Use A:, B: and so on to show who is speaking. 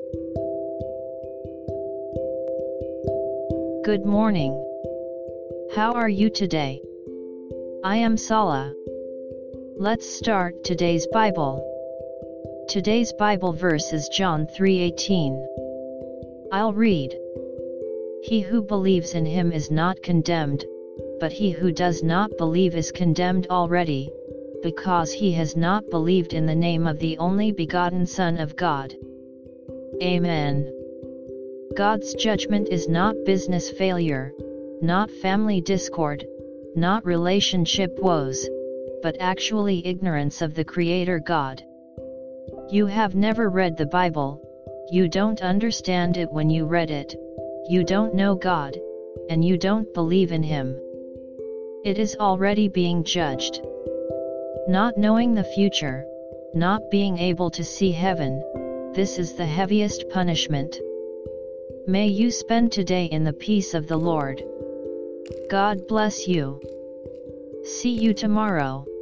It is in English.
A: Good morning. How are you today? I am Sala. Let's start today's Bible. Today's Bible verse is John 3:18. I'll read. He who believes in him is not condemned, but he who does not believe is condemned already, because he has not believed in the name of the only begotten Son of God. Amen. God's judgment is not business failure, not family discord, not relationship woes, but actually ignorance of the Creator God. You have never read the Bible, you don't understand it when you read it, you don't know God, and you don't believe in Him. It is already being judged. Not knowing the future, not being able to see heaven, this is the heaviest punishment. May you spend today in the peace of the Lord. God bless you. See you tomorrow.